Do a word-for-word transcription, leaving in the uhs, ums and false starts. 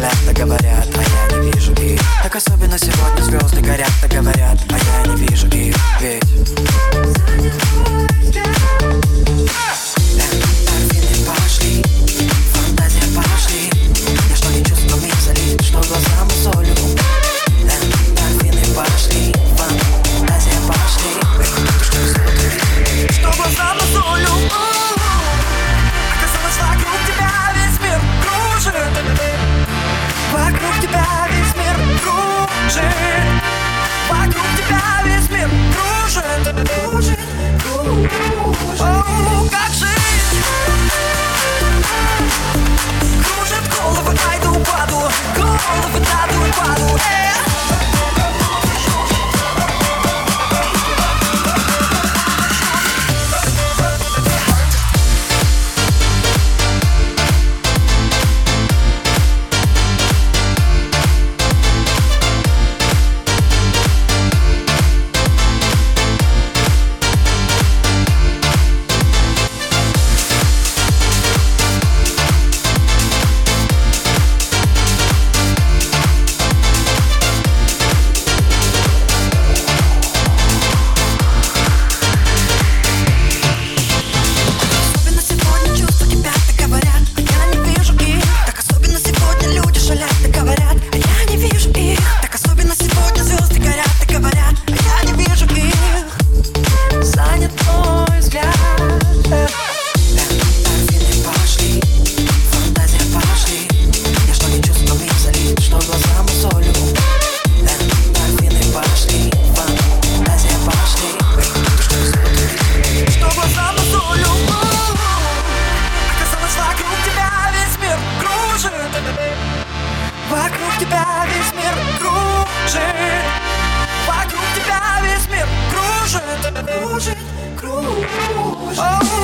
шалят, так говорят, а я не вижу их. Так особенно сегодня звезды горят, так говорят, а я не вижу их. Ведь эндорфины пошли, фантазия пошли. Я что не чувствую, миг залит, что глаза мозолю. Эндорфины пошли, фантазия пошли. Что глаза мозолю. Оказалось, вокруг тебя весь мир кружит. Вокруг тебя весь мир кружит. Вокруг тебя весь мир кружит. Кружит, кружит. О, как жизнь кружит головы, айду паду. Головы даду и паду. Вокруг тебя весь мир кружит. Вокруг тебя весь мир кружит. Кружит, кружит.